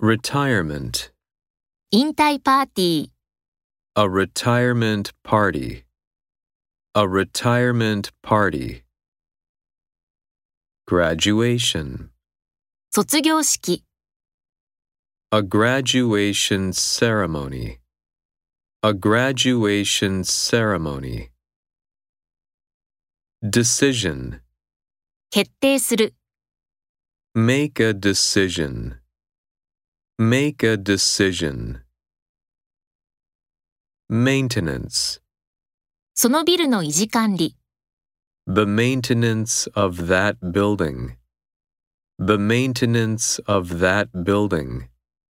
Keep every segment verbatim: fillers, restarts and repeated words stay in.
retirement, 引退パーティー、 a retirement party, a retirement party. Graduation, 卒業式、 a graduation ceremony, a graduation ceremony. Decision, 決定する、 make a decision, make a decision. Maintenance, そのビルの維持管理、 the maintenance of that building, the maintenance of that building.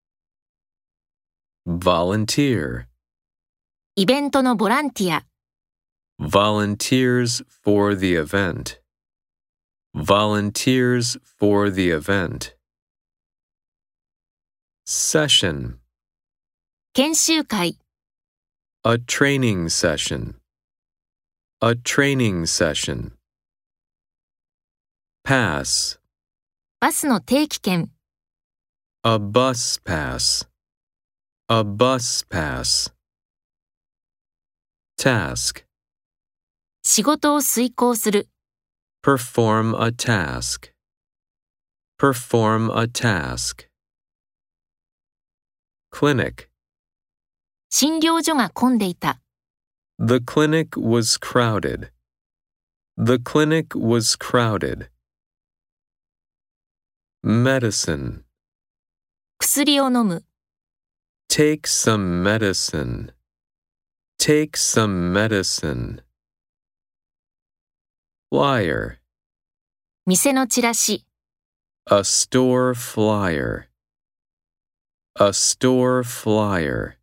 Volunteer, イベントのボランティア、 volunteers for the event, volunteers for the event. Session, 研修会、 a training session, a training session. Pass, バスの定期券、 a bus pass, a bus pass. Task, 仕事を遂行する、 perform a task, perform a task. Clinic, 診療所が混んでいた、 the clinic was crowded, the clinic was crowded. Medicine, 薬を飲む、 take some medicine, take some medicine. Flyer, 店のチラシ、 a store flyer, a store flyer.